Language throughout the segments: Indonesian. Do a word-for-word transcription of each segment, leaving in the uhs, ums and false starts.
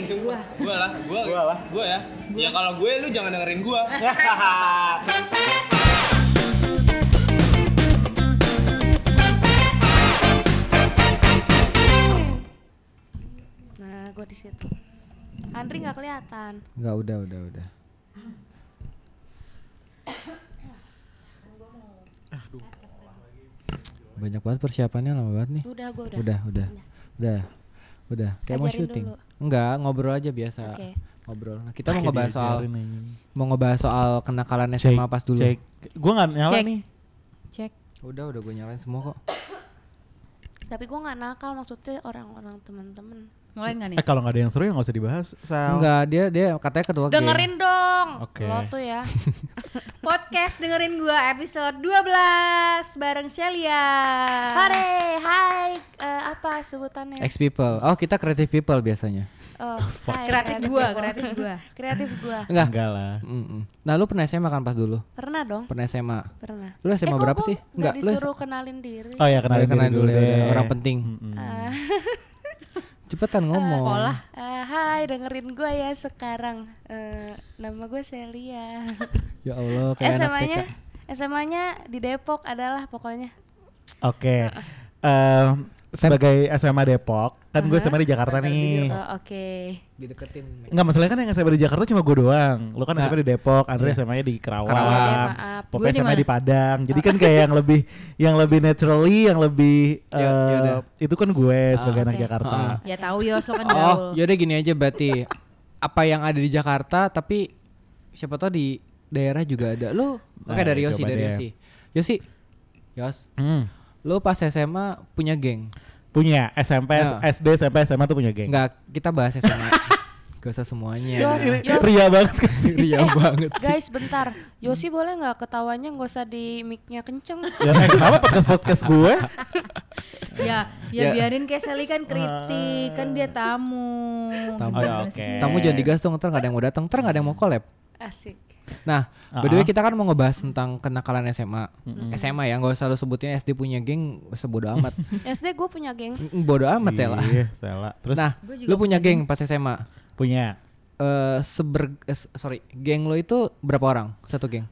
Gua. Gua lah, gua. Gua lah. Gua ya. Gua. Ya kalau gue lu jangan dengerin gua. Nah, gua di situ. Andri nggak kelihatan. Enggak, udah, udah, udah. Banyak banget persiapannya, lama banget nih. Udah, gua udah. Udah, udah. Udah. Udah, kayak mau Ajarin syuting. dulu. Enggak, ngobrol aja biasa. Oke. Ngobrol. Nah, kita mau ngebahas soal mau ngebahas soal kenakalan S M A pas dulu. Cek. Gua enggak nyala Cek. nih. Cek. Udah, udah gue nyalain semua kok. Tapi gua nggak nakal, maksudnya orang-orang teman-teman. Mulai nggak nih? Eh kalau nggak ada yang seru ya nggak usah dibahas. Sal. Enggak, dia dia katanya ketua geng. Dengerin dong. Oke. Lo tuh ya. Podcast dengerin gua episode dua belas bareng Shelia. Hore, hai. Eh, apa sebutannya? Ex people. Oh, kita creative people biasanya. Oh, hai, Kreatif gua, people. kreatif gua. Kreatif gua. Enggak. Enggak lah. Mm-mm. Nah, lu pernah S M A kan pas dulu? Pernah dong. Pernah S M A. Pernah. Lu S M A eh, berapa kok sih? Enggak, Enggak, lu disuruh kenalin diri. Oh ya kenalin, kenalin, kenalin diri dulu ya, deh. udah. Orang penting. Mm-mm. Ah, Cepetan ngomong. Pola. eh, hai, dengerin gue ya sekarang. Eh, nama gue Shelia. Ya Allah, kayak S M anak T K. A-nya S M A-nya di Depok adalah pokoknya. Oke. Eh, sebagai S M A Depok, kan gue S M A di Jakarta nih. Oh, oke. Dideketin. Enggak, masalahnya kan yang S M A di Jakarta cuma gue doang. Lu kan S M A Nah. di Depok, Andre Iya. S M A-nya di Kerawang. Kerawang. Iya, maaf. Pokoknya Gua di S M A mana? di Padang. Jadi kan kayak yang lebih yang lebih naturally, yang lebih Ya- eh, yaudah. itu kan gue sebagai anak oke. Jakarta. Ah. Ya tahu Yos, lo kan Oh, gaul. yaudah gini aja berarti. Apa yang ada di Jakarta tapi siapa tahu di daerah juga ada. Lu Nah, oke dari Yosi, coba dari deh. Yosi. Yosi. Yos, Hmm. lu pas S M A punya geng? Punya S M P, Ya. S D, S M P, S M A tuh punya geng. Enggak, kita bahas S M A. Gak usah semuanya. Yos, Ini Yos. ria banget kan sih. Ria banget sih. Guys, bentar. Yosi boleh nggak ketawanya nggak usah di mic-nya kenceng? Ya, eh, kenapa podcast-podcast gue? Ya, ya Ya. biarin kayak Sally kan kritik, kan dia tamu. Tamu. Oh, ya, Gimana oke. sih? Tamu jangan digas dong, ntar gak ada yang mau datang, ntar gak ada yang mau collab. Asik. Nah, by the way kita kan mau ngebahas tentang kenakalan S M A. Mm-mm. S M A ya, gak usah lu sebutin S D punya geng, sebodo amat. S D gue punya geng. Mm, Bodo amat Sela. Iya, Sela. Terus Nah, Gua juga lu punya punya geng pas S M A. punya Eh seber eh, s- sorry, geng lo itu berapa orang? Satu geng.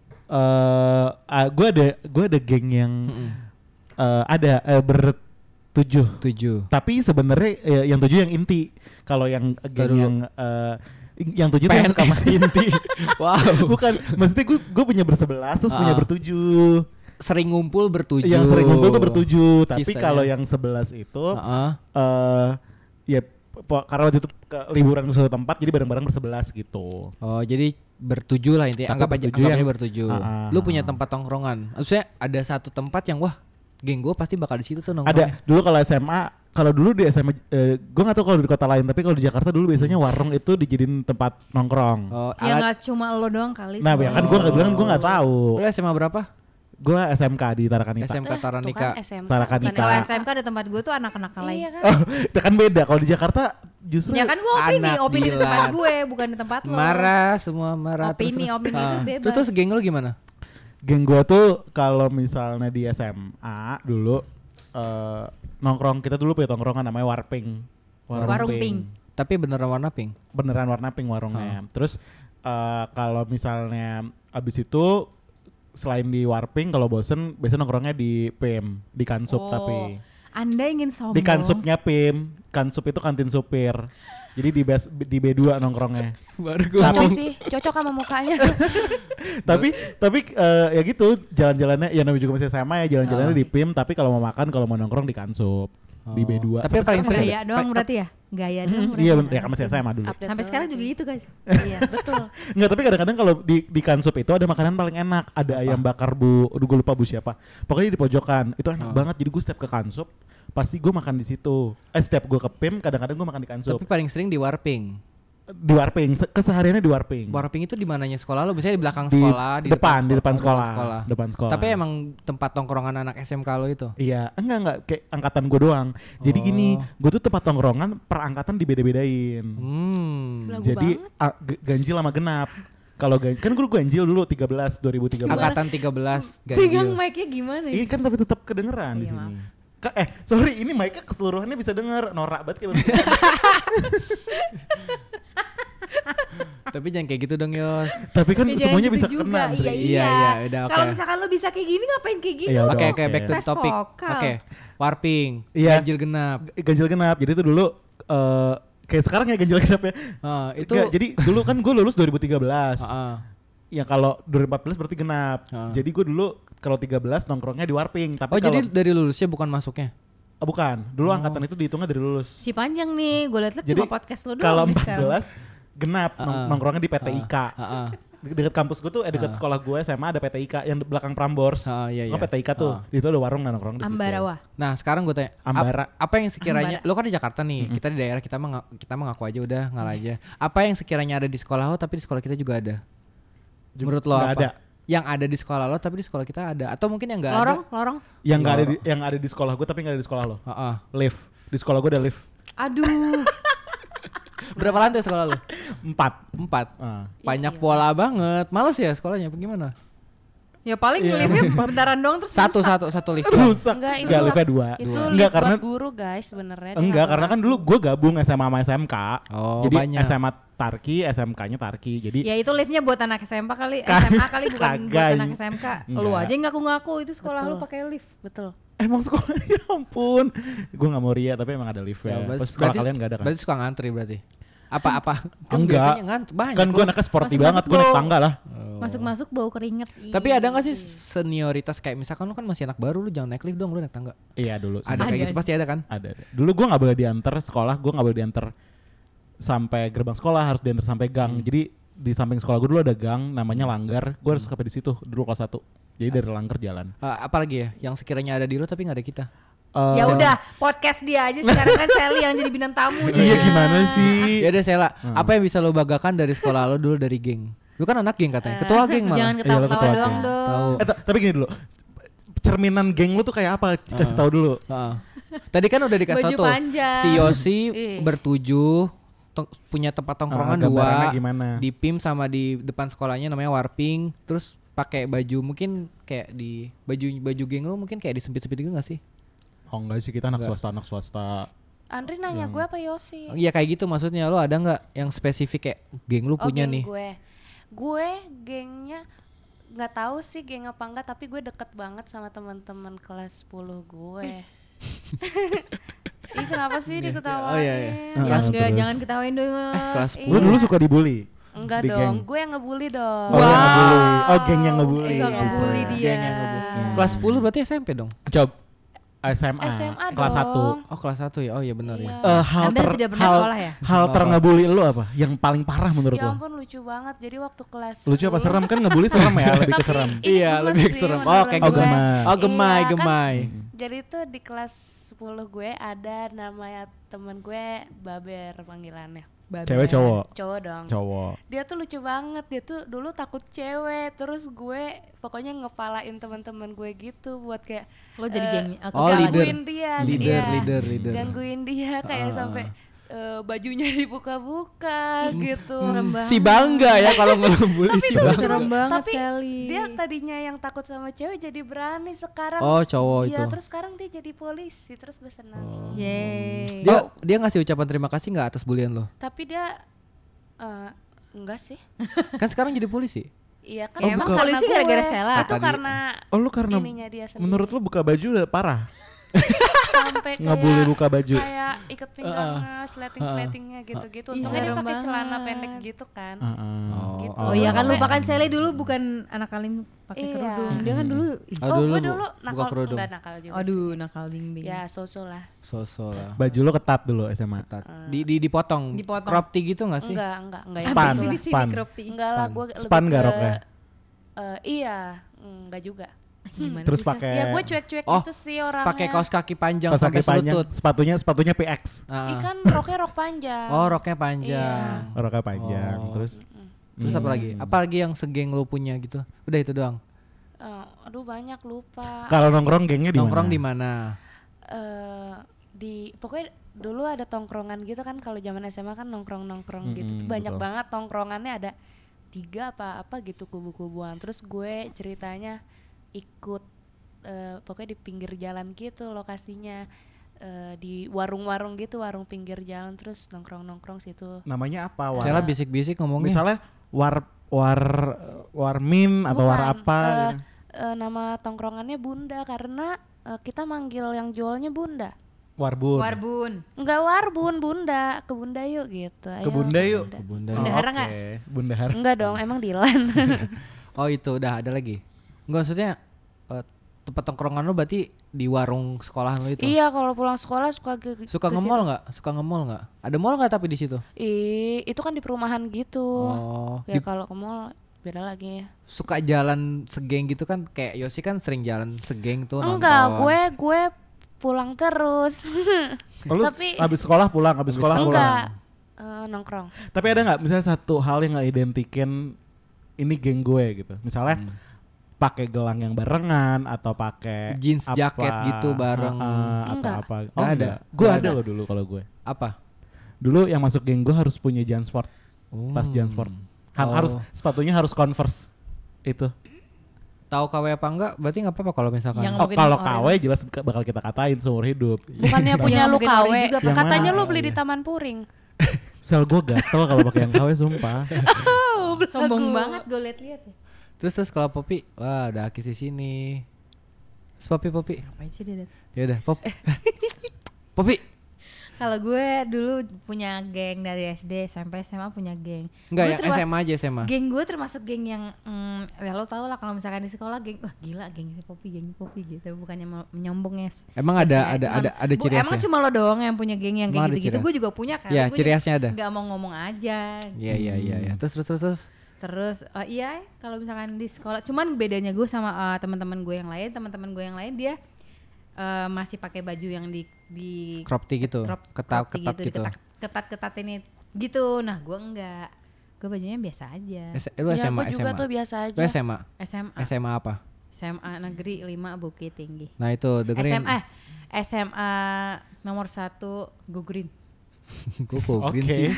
eh uh, gue ada gue ada geng yang Mm-mm. eh, ada eh, bertujuh. Tujuh. Tapi sebenarnya eh, yang tujuh yang inti. Kalau yang geng dulu. yang eh, yang tujuh tuh yang suka P N S main. inti. Wow. Bukan, maksudnya gue gue punya bersebelas terus punya Ah. bertujuh. Sering ngumpul bertujuh. Yang sering ngumpul tuh bertujuh. Tapi Sisanya. kalau yang sebelas itu Heeh. eh ya po- karena waktu itu ke liburan ke suatu tempat jadi bareng-bareng bersebelas gitu. Oh, jadi bertujuh lah intinya. Tapi Anggap aja bertujuh anggap aja yang- bertujuh. Ah, ah, Lu ah. punya tempat tongkrongan. Maksudnya ada satu tempat yang wah, geng gue pasti bakal di situ tuh nongkrong. Ada dulu kalau S M A, kalau dulu di S M A, eh, gue nggak tahu kalau di kota lain, tapi kalau di Jakarta dulu biasanya warung itu dijadiin tempat nongkrong. Oh, Ya alat. nggak cuma lo doang kali. Nah, ya semua. kan gue nggak bilang gue nggak tahu. Lu S M A berapa? Gue S M K di Tarakanita. S M K Eh, tuh Taranika. kan S M K. Tarakanita. bukan Kalau S M K. S M K ada tempat gue tuh anak-anak lain. Iya kan? Oh, itu kan beda. Kalau di Jakarta justru. Ya kan gue opini, Anak opini di tempat Dilan. gue, bukan di tempat lo. Marah semua marah Opini, terus, terus. opini Ah. itu bebas. Terus terus geng lu gimana? Geng gue tuh kalau misalnya di S M A dulu eh, nongkrong, kita dulu punya tongkrongan namanya Warping. Warung Pink. Tapi beneran warna pink. Beneran warna pink warungnya. Terus eh, kalau misalnya abis itu selain di Warping, kalau bosen biasanya nongkrongnya di P I M, di Kansup Oh, tapi Anda ingin sombong. di Kansupnya P I M. Kansup itu kantin supir. Jadi di bas, di B dua nongkrongnya. Baru Cocok sih, cocok sama mukanya. tapi tapi eh, ya gitu jalan-jalannya ya namanya juga masih S M A ya, jalan-jalannya Oh. di P I M, tapi kalau mau makan kalau mau nongkrong di Kansup. Di B dua. Tapi Sampai paling sekarang sering- masih Gaya ada. doang Pa- berarti ya? Gaya doang Hmm, berarti. iya bener, ya kan masih S M A dulu. Update Sampai sekarang juga banget gitu guys. nih. Iya, betul. Enggak, tapi kadang-kadang kalau di di Kansup itu ada makanan paling enak. Ada ayam bakar Bu, aduh gue lupa Bu siapa. Pokoknya di pojokan. Itu enak Oh. banget. Jadi gue setiap ke Kansup pasti gue makan di situ. Eh setiap gue ke P I M kadang-kadang gue makan di Kansup. Tapi paling sering di Warping. Di Warping, se- kesehariannya di Warping. Warping itu di mananya sekolah lu? Biasanya di belakang Di sekolah, di depan, di depan oh, sekolah. Depan sekolah. Tapi emang tempat tongkrongan anak S M K lo itu. Iya, enggak enggak kayak angkatan gue doang. Jadi Oh. gini, gue tuh tempat tongkrongan per angkatan dibeda-bedain. Hmm. Belagu Jadi banget. a- g- ganjil sama genap. Kalau gan- kan gue ganjil dulu tiga belas dua ribu tiga belas. Angkatan tiga belas Pegang ganjil. mic-nya gimana Ini sih? kan tapi tetap kedengeran di Iya, sini. Ka- eh, sorry, ini mic-nya keseluruhannya bisa denger. Norak banget kayak begitu. Tapi jangan kayak gitu dong Yos. Tapi kan Ya, jangan semuanya gitu bisa juga. kena. Andre. Iya, Iya, iya. iya, udah, oke. Kalau misalkan lo bisa kayak gini ngapain kayak gini? Iya, Oke udah, oke back to the Tes topic. vokal. Oke. Warping, Iya. ganjil genap. Ganjil genap. Jadi itu dulu eh kayak sekarang ya ganjil genap ya. Ah, itu Nggak, jadi dulu kan gue lulus dua ribu tiga belas. Heeh. Ya kalau dua ribu empat belas berarti genap. Ah. Jadi gue dulu kalau tiga belas nongkrongnya di Warping. Tapi Oh kalau jadi dari lulusnya bukan masuknya? oh, bukan. Dulu Oh. angkatan itu dihitungnya dari lulus. Si panjang nih, gue liat-liat Jadi cuma podcast lo doang kalau nih empat sekarang. belas genap nong- Ah. nongkrongnya di P T I K. Heeh. De- Dekat kampus gue tuh, eh dekat sekolah gue S M A ada P T I K yang di belakang Prambors. Ah, iya, Oh, iya. P T I K tuh. Ah. Di situ ada warung dan nongkrong di situ. Ambarawa. Nah sekarang gue tanya, ap- Ambara. apa yang sekiranya, Ambara. lo kan di Jakarta nih, kita di daerah kita mah kita mah ngaku aja udah ngalah aja. Apa yang sekiranya ada di sekolah lo tapi di sekolah kita juga ada? Juga Menurut lo nggak apa? ada. Yang ada di sekolah lo tapi di sekolah kita ada, atau mungkin yang nggak ada? Lorong, lorong. Yang nggak ada di, yang ada di sekolah gue tapi nggak ada di sekolah lo. Heeh. Lift. Di sekolah gue ada lift. Aduh. Berapa lantai sekolah lo? Empat. Empat. Ah. Banyak pola banget. Males ya sekolahnya? Apa gimana? Ya paling Iya, liftnya bentaran doang terus Satu rusak. satu satu lift. doang. Rusak. Enggak, itu Enggak, liftnya dua. Itu Dua. lift Enggak karena buat guru guys sebenarnya. dia enggak nggak karena kan buat dulu gue gabung S M A sama S M K. Oh, Jadi banyak. S M A Tarki, S M K-nya Tarki. Jadi Ya itu liftnya buat anak S M A kali, Kagak. S M A kali bukan buat Kagak. anak S M K. Lu Enggak. aja yang ngaku-ngaku itu sekolah lu Betul. pakai lift. betul. emang sekolah ya ampun. Gue gak mau ria tapi emang ada lift Ya, ya. berarti- Pas sekolah berarti- kalian gak ada kan? Berarti suka ngantri berarti. Apa apa? Kan Enggak. biasanya ngantri banyak. Kan gue loh. anaknya sporty Masuk-masuk banget, gue naik bau. tangga lah. Oh. Masuk-masuk bau keringet. Tapi ada gak sih senioritas kayak misalkan lu kan masih anak baru, lu jangan naik lift dong, lu naik tangga. Iya dulu. Ada sempat. kayak gitu sih. pasti ada kan? Ada, ada. Dulu gue gak boleh diantar sekolah, gue gak boleh diantar sampai gerbang sekolah, harus diantar sampai gang. Hmm. Jadi di samping sekolah gue dulu ada gang namanya Langgar. Gue harus sampai di situ dulu kelas satu. Jadi dari Langgar jalan. Eh, apalagi ya yang sekiranya ada di lu tapi nggak ada kita. Eh, Ya udah, podcast dia aja sekarang kan Sally yang jadi bintang tamunya. Iya gimana sih? Ya udah Sela, Hmm. apa yang bisa lo banggakan dari sekolah lo dulu dari geng? Lu kan anak geng katanya, ketua geng malah. Jangan Iya, lu ketawa-ketawa ketua doang geng. dong. Tahu. Eh, ta- tapi gini dulu. Cerminan geng lu tuh kayak apa? Kasih tahu dulu. Heeh. Tadi kan udah dikasih Baju tau tuh. panjang. Si Yosi Ih. bertujuh to- punya tempat tongkrongan Ah, dua gambarannya gimana? di P I M sama di depan sekolahnya namanya Warping. Terus pakai baju mungkin kayak di baju baju geng lu mungkin kayak disempit-sempit gitu gak sih? Oh enggak sih, kita anak Enggak. swasta, anak swasta. Andri nanya gue apa Yosi? Iya kayak gitu maksudnya, lo ada nggak yang spesifik kayak geng lu Oh, punya geng nih? gue. Gue gengnya nggak tahu sih geng apa enggak, tapi gue deket banget sama teman-teman kelas sepuluh gue. Ih kenapa sih diketawain? Oh, iya, iya. Ah, Ya terus. enggak, jangan ketawain dong. Kelas Iya. sepuluh. Lu dulu suka dibully? Enggak Di dong, geng. gue yang ngebully dong. Oh, yang ngebully. Oh, geng yang ngebully. Iya, Enggak ngebully Iya. dia. Geng yang ngebully. Kelas sepuluh berarti S M P dong? Coba S M A, S M A kelas dong. satu. Oh kelas satu ya? Oh iya benar Iya. ya. Eh, hal Anda ter, tidak pernah hal, sekolah ya? hal Apa? terngebully lu apa? Yang paling parah menurut Ya lu? ampun lucu banget. Jadi waktu kelas Lucu apa sepuluh serem kan ngebully serem ya, lebih ke Tapi serem. ini Iya, gemes lebih sih serem. Oh, menurut kayak Oh, gue. gemas. Oh gemai, Iya, kan gemai. Jadi tuh di kelas sepuluh gue ada namanya temen gue Baber panggilannya. Cewek cowok? Cowok dong. Cowok. Dia tuh lucu banget. Dia tuh dulu takut cewek. Terus gue pokoknya ngepalain teman-teman gue gitu buat kayak Lo jadi eh, geng. aku Oh, kalah. leader. gangguin dia, Leader, iya. leader, leader. Gangguin dia kayak Ah. sampai eh, bajunya dibuka-buka gitu. Serem banget. Si bangga ya kalau ngebully si Tapi bangga. Serem banget Tapi Sally. dia tadinya yang takut sama cewek jadi berani sekarang. Oh cowok Iya, itu. terus sekarang dia jadi polisi. Terus gue senang. Yeay. Dia dia ngasih ucapan terima kasih nggak atas bulian lo? Tapi dia eh, enggak sih. Kan sekarang jadi polisi. Iya kan Oh, emang bukan. karena Polisi gue. gara-gara Sela. Itu Kata dia. karena Oh lu karena ininya dia sendiri. menurut lu buka baju udah parah? sampai Ngebully kayak buka baju. kayak ikat pinggangnya, sleting-sletingnya gitu-gitu. Ih, Untungnya dia serem pakai celana banget. pendek gitu kan. Heeh. Gitu. Oh iya kan Sampai- lupakan Sally dulu bukan anak kalian pakai Iya. kerudung. Dia kan dulu Oh, Oh, dulu gue bu- dulu buka nakal, kerudung. enggak nakal juga aduh sih. nakal bimbing. Ya so-so lah. Sosok lah. Baju lu ketat dulu S M A. Ketat. Di, di dipotong. Dipotong. Crop tee gitu nggak sih? Enggak, enggak, enggak. yang Span, gitu lah. Sini span. crop tee. Enggak lah, gue Span lebih nggak ke- roknya? eh, iya, enggak juga. Gimana Terus bisa? pakai Ya gue cuek-cuek Oh, gitu sih orangnya. pakai kaos kaki panjang kaos sampai kaki panjang, selutut. sepatunya sepatunya P X. Ah. Ikan roknya rok panjang. Oh roknya panjang. Roknya panjang, Oh. terus Terus apa lagi? Apa lagi yang segeng lu punya gitu? Udah itu doang. Eh, aduh banyak lupa. kalau nongkrong gengnya di Nongkrong mana? di mana? Eh di pokoknya dulu ada tongkrongan gitu kan, kalau zaman S M A kan nongkrong-nongkrong gitu tuh Mm-mm, banyak betul. banget tongkrongannya, ada tiga apa apa gitu kubu-kubuan. Terus gue ceritanya ikut eh, pokoknya di pinggir jalan gitu lokasinya. uh, di warung-warung gitu, warung pinggir jalan terus nongkrong-nongkrong situ. Namanya apa? War, Cela bisik-bisik ngomongnya. misalnya war war warmin atau war Bukan, apa? uh, gitu. uh, nama tongkrongannya Bunda karena uh, kita manggil yang jualnya Bunda. Warbun. Warbun. Enggak Warbun, Bunda, ke Bunda yuk gitu. Ayo, Ke Bunda yuk. Bunda. Bunda. Oh, Bendahara oke. nggak? Bundahara. Enggak dong, emang Dilan. Oh itu udah ada lagi. Enggak maksudnya uh, tempat tongkrongan lu berarti di warung sekolahan lu itu. Iya, kalau pulang sekolah suka ke Suka ke nge-mall situ. nggak? Suka nge-mall nggak? Ada mall nggak tapi di situ? Ih, itu kan di perumahan gitu. Oh. Ya Di- kalau ke mall beda lagi ya. suka jalan segeng gitu kan, kayak Yosi kan sering jalan segeng tuh Enggak, nonton. gue gue pulang terus. Oh, lu Tapi- habis sekolah pulang, habis sekolah pulang. Enggak, eh, nongkrong. Tapi ada nggak misalnya satu hal yang nggak identikin ini geng gue gitu. Misalnya Hmm. pakai gelang yang barengan atau pakai Jeans apa, jaket gitu bareng. uh-uh, atau Enggak. apa. Oh, Nggak ada. enggak. Gue Nggak ada ada. loh dulu kalau gue. Apa? Dulu yang masuk geng gue harus punya Jansport. Oh. Tas Jansport. Ha- Oh. Harus sepatunya harus Converse. Itu. Tahu K W apa enggak? Berarti nggak apa-apa kalau misalkan. Yang- Oh, Mungkin kalau orang- K W jelas ke- bakal kita katain seumur hidup. Bukannya punya Yang lu mungkin K W. ori juga Yang Katanya mana? lu beli Oh, di iya. Taman Puring. Sel gue gatel kalau pakai yang K W sumpah. Sombong banget gue liat-liat ya. Terus terus kalau Popi, wah ada Akis di sini. Terus Popi Popi. Ngapain sih dia? Ya udah, Pop. Popi. Kalau gue dulu punya geng dari S D sampai S M A punya geng. Enggak Gue yang termas- S M A aja S M A. Geng gue termasuk geng yang mm, ya lo tau lah kalau misalkan di sekolah geng wah gila geng si Popi geng si Popi gitu bukannya mau menyombong ya. Emang ada Ya, ada cuman- ada ada bu- ciri Emang khasnya. cuma lo doang yang punya geng yang Emang ada kayak gitu-gitu. ciri Gue khas. juga punya kan. Ya, Gue ciri juga khasnya ada. Gak mau ngomong aja. Iya iya iya iya. Terus terus terus terus. Terus eh, iya kalau misalkan di sekolah, cuman bedanya gue sama eh, teman-teman gue yang lain, teman-teman gue yang lain dia eh, masih pakai baju yang di di Crop tee gitu. crop- Ketat crop tee ketat gitu. diketat- ketat-ketat ini gitu. Nah gue enggak, gue bajunya biasa aja. S- lu Ya, S M A gue S juga M A. tuh biasa Lu aja. S M A. S M A S M A apa? S M A negeri lima Bukit Tinggi. Nah itu dengerin. S M A S M A nomor satu Go Green. Gue kok Oke. green sih.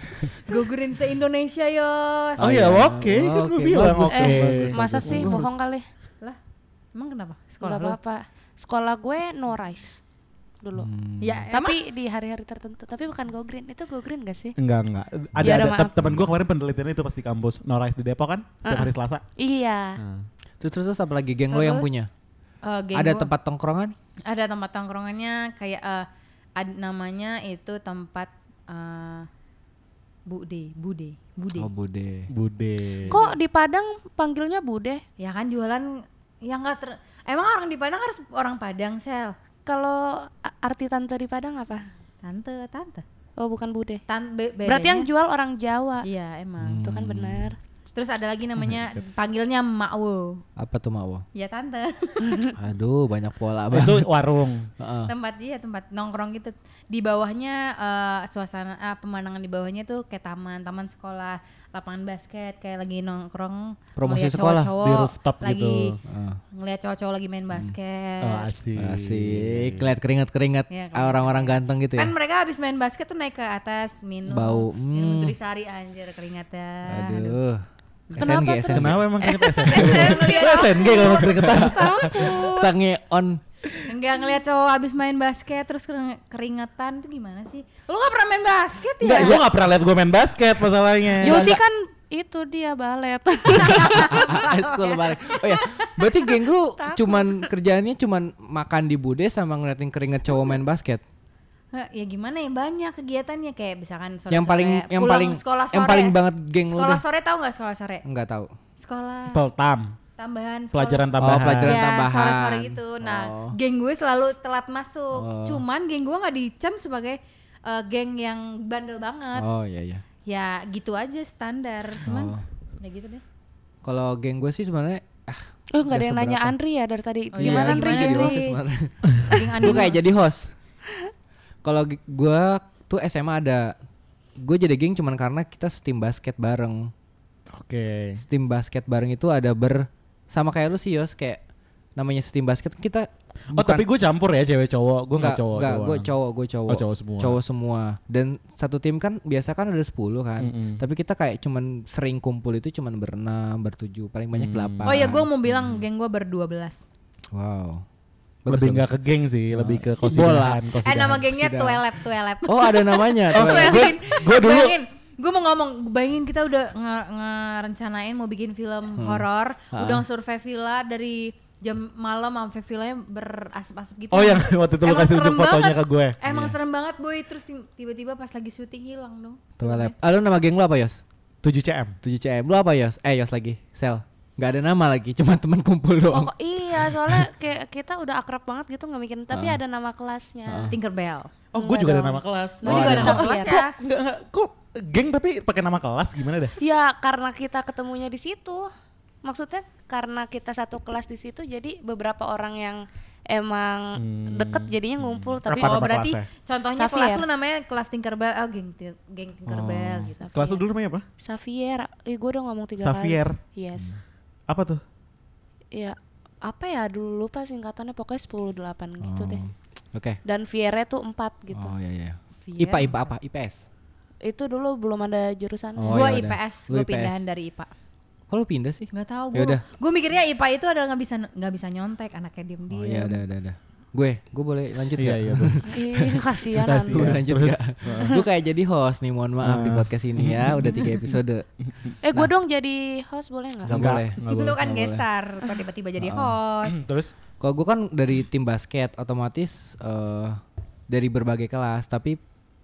Go Green se Indonesia yos. Oh iya. ya oke, kan Oke, gue bilang bagus oke. dong, Eh, bagus, masa bagus, sih bagus. bohong kali? Lah, emang kenapa? Sekolah Enggak lu? apa-apa. Sekolah gue no rice dulu. Hmm. Ya, emang Tapi di hari-hari tertentu. Tapi bukan go green. Itu go green gak sih? Enggak enggak. Ada Ya udah, ada maaf. tem- teman gue kemarin penelitian itu pas di kampus No Rice di Depok kan setiap Uh-uh. hari Selasa. Iya. Nah. Terus terus terus apa lagi geng lo yang Terus, punya? Eh, geng Ada gua- tempat tongkrongan? ada tempat tongkrongannya kayak eh, ad- namanya itu tempat eh, Bude, Bude, Bude. Oh Bude. Bude. Kok di Padang panggilnya Bude? Ya kan jualan yang enggak ter emang orang di Padang harus orang Padang, Sel. Kalau a- arti tante di Padang apa? Tante, tante. Oh, bukan Bude. Tan be- Berarti yang bedanya- jual orang Jawa. Iya, emang. Itu kan benar. Terus ada lagi namanya panggilnya Makwo. Apa tuh Mawo? Ya tante. Aduh banyak pola Itu banget. warung. Heeh. tempat dia tempat nongkrong gitu. Di bawahnya eh, suasana ah, pemandangan di bawahnya tuh kayak taman, taman sekolah, lapangan basket kayak lagi nongkrong. Promosi ngeliat sekolah, cowok-cowok di rooftop lagi gitu. Heeh. ngeliat cowok-cowok lagi main basket. Oh asik. Asik, lihat keringat-keringat Iya, keringat. orang-orang ganteng gitu ya. Kan mereka habis main basket tuh naik ke atas minum, Bau, minum hmm. Nutrisari anjir keringatnya. Aduh. Kenapa S N G, S N G. Kenapa emang keringet S N G? Lu S N G kalau keringetan. Sange on. Enggak ngeliat cowok habis main basket terus kering- keringetan itu gimana sih? Lu gak pernah main basket ya? Enggak, gue gak pernah liat gue main basket masalahnya. Yosi kan itu dia balet. School balik. Oh ya, berarti geng lu cuman kerjaannya cuman makan di bude sama ngeliatin keringet cowok main basket. Hah, ya gimana ya banyak kegiatannya kayak misalkan sore Yang paling yang pulang paling sekolah sore. yang paling banget geng lu Sekolah deh. sore tahu nggak sekolah sore? Enggak tahu. Sekolah Peltam. tambahan sekolah. Pelajaran Oh, tambahan. pelajaran Ya, tambahan. sore-sore gitu. Nah, Oh. geng gue selalu telat masuk. Oh. Cuman geng gue nggak dicap sebagai eh, geng yang bandel banget. Oh iya iya. Ya gitu aja standar. Cuman Oh. ya gitu deh. Kalau geng gue sih sebenarnya ah, Oh, enggak ada yang nanya seberapa. Andri ya dari tadi. Oh, Gimana iya, Andri? gimana jadi Andri? host sebenarnya. Geng Gue anime. kayak jadi host. Kalau g- gue tuh S M A ada, gue jadi geng cuman karena kita setim basket bareng. Oke. Setim basket bareng itu ada ber sama kayak lu sih Yos, kayak namanya setim basket kita. Oh tapi gue campur ya cewek cowok. Gue gak cowok Enggak, doang. gue cowok, gue cowok. Oh, cowok semua. Cowok semua. Dan satu tim kan biasa kan ada sepuluh kan. Mm-mm. Tapi kita kayak cuman sering kumpul itu cuman berenam, bertujuh, paling banyak Hmm. delapan. Oh ya gue mau bilang geng gue berdua belas. Wow. Bagus, lebih bagus. nggak ke geng sih, lebih ke Bola. kosidahan. Eh nama gengnya Sidang. Tuelep, Tuelep. Oh ada namanya. Oh, tuh. gue gue dulu Bayangin, gue mau ngomong, bayangin kita udah nge- ngerencanain mau bikin film Hmm. horor, Ha. udah survei villa dari jam malam sampai villanya berasap-asap gitu. Oh yang waktu itu lu Emang kasih serem unjuk fotonya banget. ke gue. Emang Iya. serem banget boy, terus tim- tiba-tiba pas lagi syuting hilang dong. Tuh lab. Ah, lu nama geng lu apa Yos? tujuh C M. tujuh C M. Lu apa Yos? Eh Yos lagi. Sel. Gak ada nama lagi, cuma teman kumpul doang. Oh iya, soalnya kayak kita udah akrab banget gitu nggak mikirin, tapi Ah. ada nama kelasnya. Tinkerbell. Oh gue Enggak juga ada dong. nama kelas. Gue Oh, juga ada ada nama nama kelas kelas. ya. Enggak enggak kok geng tapi pakai nama kelas gimana dah? Ya karena kita ketemunya di situ. Maksudnya karena kita satu kelas di situ, jadi beberapa orang yang emang Hmm. deket jadinya ngumpul. Tapi Apa Oh nama berarti kelasnya? contohnya Xavier. kelas lu namanya kelas Tinkerbell, oh geng Ti- geng Tinkerbell Oh. gitu. Kelas lu dulu namanya apa? Xavier, eh gue udah ngomong tiga Xavier. kali. Yes. Apa tuh? Ya apa ya dulu lupa singkatannya, pokoknya sepuluh delapan gitu Oh. deh. Oke. Dan Viere tuh empat gitu. Oh iya iya. Vier. I P A I P A apa? I P S. Itu dulu belum ada jurusannya. Oh, Gua ya I P udah. S, Lu gue I P S. pindahan dari I P A. Kok lu pindah sih? Gak tau Ya gue. udah. Gue mikirnya I P A itu adalah nggak bisa nggak bisa nyontek, anaknya diem Oh diem. iya udah udah udah. Gue, gue boleh lanjut Iya gak? iya terus. Ih, kasihan Makasih Gue ya. Anda. lanjut Terus, gak? Gue kayak jadi host nih, mohon maaf di Ah. podcast ini ya. Udah tiga episode. Eh gue dong jadi host boleh nggak? Gak Enggak, boleh. enggak Lu boleh. kan nggak guest boleh. star, kok tiba-tiba jadi Oh. host. Terus Kalau gue kan dari tim basket, otomatis eh, dari berbagai kelas, tapi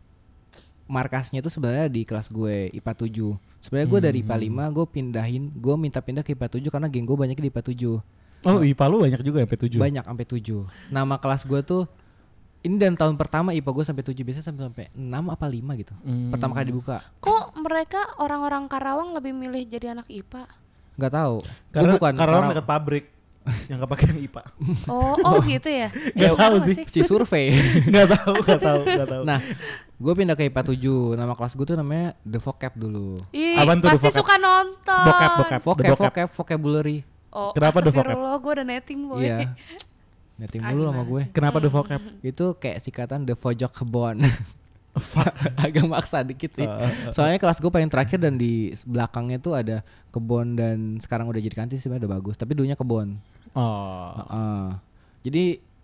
markasnya itu sebenarnya di kelas gue I P A tujuh. Sebenarnya gue dari I P A lima, gue pindahin, gue minta pindah ke I P A tujuh karena geng gue banyak di I P A tujuh. oh I P A lu banyak juga ya P tujuh. Banyak sampai tujuh. Nama kelas gue tuh ini dan tahun pertama I P A gue sampai tujuh, biasanya sampai sampai enam apa lima gitu. Hmm. Pertama kali dibuka. Kok mereka orang-orang Karawang lebih milih jadi anak I P A? Nggak tahu. Karena Gue bukan Karawang Karawang. dekat pabrik yang kepake yang I P A. Oh, oh gitu ya? Nggak tahu Kenapa sih. Si survei. Enggak tahu, enggak tahu, enggak tahu. Nah, gue pindah ke I P A tujuh. Nama kelas gue tuh namanya The Vocab dulu. Ih, Apaan tuh, pasti The Vocab? suka nonton. Vocab, vocab. The Vocab, vocab. vocab, vocabulary. Oh, Kenapa The Vocab? astagfirullah, gue udah netting boy. Iya. Netting Ah, dulu sama gimana gue. Kenapa the vocab? Itu kayak sikatan The Pojok Kebon. Fuck. Agak maksa dikit sih. Uh, uh, uh. Soalnya kelas gue paling terakhir dan di belakangnya tuh ada kebon dan sekarang udah jadi kantin sih, udah bagus. Tapi dulunya kebon. Oh. Heeh. Jadi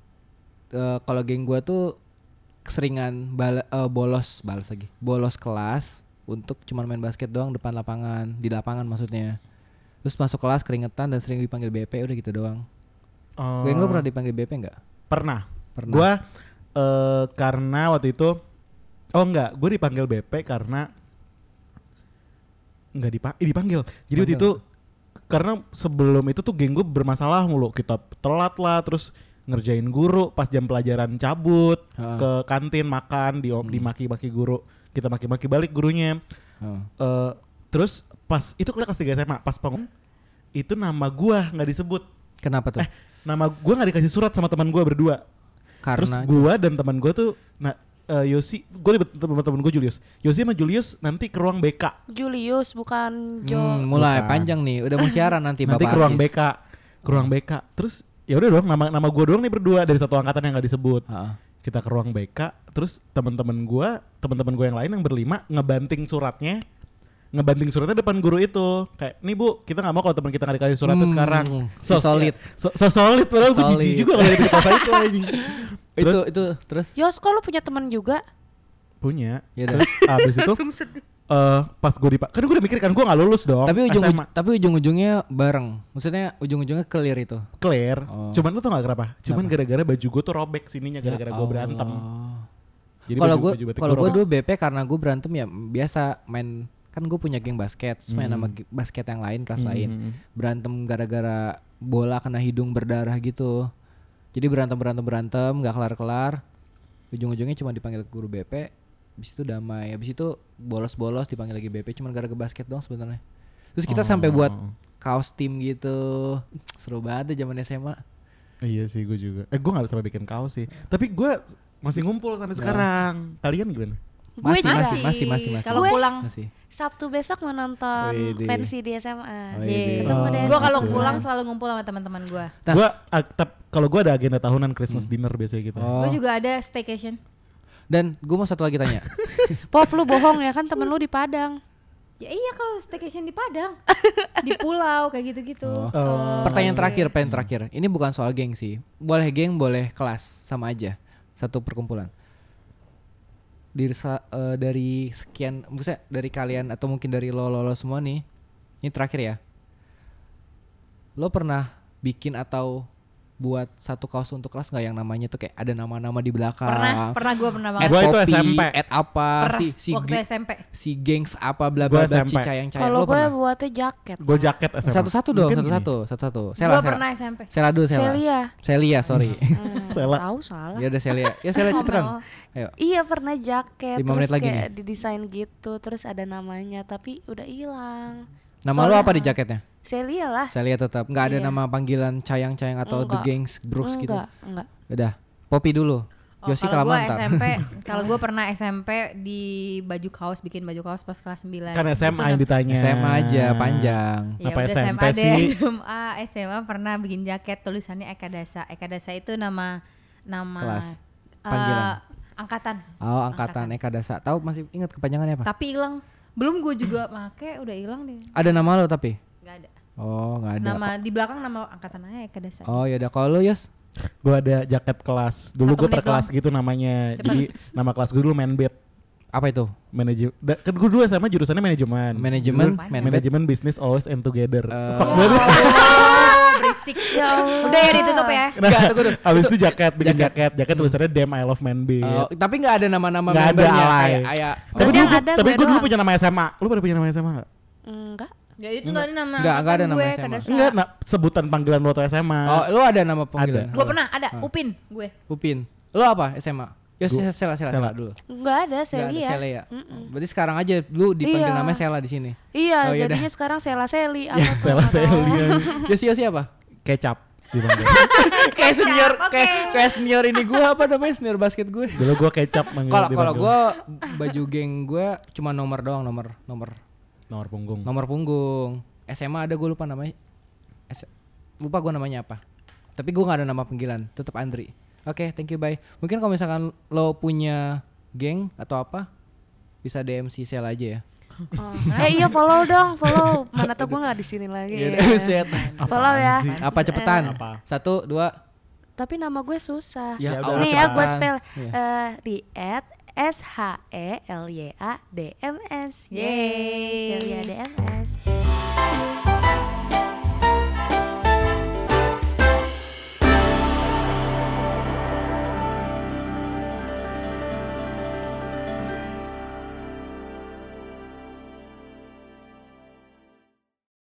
eh, kalau geng gue tuh keseringan bal- eh, bolos, balas lagi, bolos kelas untuk cuman main basket doang depan lapangan, di lapangan maksudnya. Terus masuk kelas keringetan dan sering dipanggil B P, udah gitu doang. Oh. Geng lo pernah dipanggil B P nggak? Pernah. Pernah. Gua eh, karena waktu itu oh enggak, gue dipanggil B P karena enggak dipa- eh, dipanggil. Jadi waktu Panggil. itu karena sebelum itu tuh geng gue bermasalah mulu. Kita telat lah, terus ngerjain guru pas jam pelajaran cabut Heeh. ke kantin makan di Hmm. dimaki-maki guru. Kita maki-maki balik gurunya. Oh. Eh, terus pas itu kelas tiga S M A, pas pengumuman itu nama gua nggak disebut. Kenapa tuh? Eh, nama gua nggak dikasih surat sama teman gua berdua. Terus Karena gua dan teman gua tuh nah eh, Yosi, gua ribet sama temen gua Julius. Yosi sama Julius nanti ke ruang B K. Julius bukan Jo. Hmm, mulai Bukan. panjang nih, udah mau siaran nanti Nanti Bapak ke ruang Artis. B K, ke ruang B K. Terus ya udah dong, nama nama gua doang nih berdua dari satu angkatan yang nggak disebut. Heeh. Kita ke ruang B K, terus teman-teman gua, teman-teman gua yang lain yang berlima ngebanting suratnya. Ngebanting suratnya depan guru itu. Kayak, "Nih Bu, kita nggak mau kalau teman kita nggak dikasih suratnya Hmm, sekarang." si solid. So, so solid padahal gue Solid. jijik juga kalau di kelas itu anjing. Itu Terus itu terus Yos, kok lu punya teman juga? punya. ya udah. Terus abis itu eh pas gue dipak, kan gue udah mikir kan gue nggak lulus dong. Tapi ujung S M A. tapi ujung-ujungnya bareng. Maksudnya ujung-ujungnya clear itu. Clear. Oh. Cuman lu tau gak kenapa? Cuman Kenapa? gara-gara baju gue tuh robek sininya gara-gara Ya gue berantem. Allah. Jadi Kalau baju- gue baju batik kalau gue robek. dulu B P karena gue berantem ya biasa main, kan gue punya geng basket, terus main Hmm. sama ge- basket yang lain kelas Hmm, lain. hmm, hmm. Berantem gara-gara bola kena hidung berdarah gitu. Jadi berantem berantem berantem nggak kelar-kelar. Ujung-ujungnya cuma dipanggil guru B P. Habis itu damai. Habis itu bolos-bolos dipanggil lagi B P cuma gara-gara basket doang sebenarnya. Terus kita sampai Oh. buat kaos tim gitu. Seru banget tuh zaman S M A. Iya sih gue juga. Eh gue gak sampai bikin kaos sih. Tapi gue masih ngumpul sampai Ya. sekarang. Kalian gimana? Gue Masih, juga. masih, masih, masih, masih. Kalau Gue- pulang, Masih. Sabtu besok mau nonton Widih. Fancy di S M A. Widih. Ketemu Oh. deh. gue kalau gitu. pulang selalu ngumpul sama teman-teman gue. Nah. Gue kalau gue ada agenda tahunan Christmas dinner biasanya gitu. Oh. Gue juga ada staycation. Dan gue mau satu lagi tanya. Pop, lu bohong ya kan, temen lu di Padang. Ya iya kalau staycation di Padang, di pulau kayak gitu-gitu. Oh. Oh. Pertanyaan terakhir, pertanyaan terakhir. Ini bukan soal geng sih. Boleh geng, boleh kelas, sama aja. Satu perkumpulan. Dari uh, dari sekian, maksudnya dari kalian atau mungkin dari lo lo, lo semua nih. Ini terakhir ya. Lo pernah bikin atau buat satu kaos untuk kelas nggak yang namanya tuh kayak ada nama-nama di belakang? Pernah, pernah gue pernah At banget. Gua itu Poppy, S M P. at apa Pernah, si si waktu ge- S M P. si gengs apa bla Gua bla bla S M P. cicayang-cayang. Kalau Lo gue pernah? buatnya jaket. Gue jaket S M A. Satu-satu dong, Mungkin satu-satu, satu-satu. Gue Sela, Sela. pernah S M P. Sela dulu, Sela. Celia. Celia, sorry. Hmm, Sela. Tahu salah. Ya udah Celia. Ya Celia cepetan. Ayo. Iya pernah jaket. Lima terus menit lagi kayak didesain gitu, terus ada namanya, tapi udah hilang. Nama lo Soalnya- apa di jaketnya? Celia lah. Celia tetap. Enggak ada Iya. nama panggilan cayang-cayang atau The Enggak. Gangs Brooks gitu. Enggak, enggak. Udah. Poppy dulu. Oh, Yosi kalau gue Kalamantan. S M P, kalau gue pernah S M P di baju kaos, bikin baju kaos pas kelas sembilan. Kan S M A Itu yang ditanya. S M A aja panjang. Ya Apa udah S M P S M A deh, sih? S M A, S M A pernah bikin jaket tulisannya Eka Dasa. Eka Dasa itu nama nama Kelas. eh, Panggilan. angkatan. Oh, angkatan Eka Dasa. Tahu masih ingat kepanjangannya apa? Tapi hilang. Belum gue juga make, udah hilang deh. Ada nama lo tapi? Gak ada. Oh, enggak ada. Nama di belakang nama angkatannya Eka Dasa. Oh, ya udah kalau lo, Yos. Gue ada jaket kelas. Dulu Satu gue per menit kelas doang. gitu namanya. Cepet. Jadi nama kelas gue dulu Manbet. Apa itu? Manajemen. Kan gue dulu sama jurusannya manajemen. Manajemen, Dulu Manbet. Manajemen business always and together. Eh, Fuck Ya banget. Allah, berisik. Ya Allah. Udah ya ditutup ya. Nah, Enggak, tunggu dulu. abis itu jaket, bikin Jaket. jaket. Jaket tulisannya Damn I Love Manbet. Oh, tapi nggak ada nama-nama Nggak ada membernya, alay. kayak kayak Tapi Berarti dulu, yang gua- ada tapi gue gue dulu doang. punya nama S M A. Lu pada punya nama S M A gak? Enggak. Ya itu tadi nama. Nggak, nggak ada nama gue, S M A. Eka Dasa. Enggak, nah, sebutan panggilan lu waktu S M A. Oh, lo ada nama panggilan? Gue pernah ada Upin gue. Upin. Lo apa S M A? Yos, Gua- Sela, Sela, Sela. Sela dulu. Enggak ada Nggak ada Celia. Sela ya? Mm-mm. Berarti sekarang aja lu dipanggil Iya. namanya Sela di sini. Iya, Oh, yaudah. jadinya sekarang Sela Seli. Apa tuh, Sela nggak tahu. Celia. Yosi, Yosi apa? Kecap dipanggil. Kayak senior, Oke. kayak kayak senior ini gue apa namanya senior basket gue. Dulu gue kecap manggil. Kalau kalau dipanggil. gue baju geng gue cuma nomor doang, nomor nomor nomor punggung. nomor punggung. S M A ada gue lupa namanya. S- lupa gue namanya apa. Tapi gue nggak ada nama panggilan, tetap Andri. Oke, thank you, bye. Mungkin kalau misalkan lo punya geng atau apa, bisa D M si Sel aja ya. Oh. Eh iya follow dong, follow. Mana tau gue nggak di sini lagi. Iya, udah, set. Follow ya. sih? Apa cepetan? Apa? Satu, dua. Tapi nama gue susah. Ya, Ya Allah, udah, Nih ya gue cepetan. spell Iya. eh, di at S H E L Y A D M S. Yeay. Celia D M S.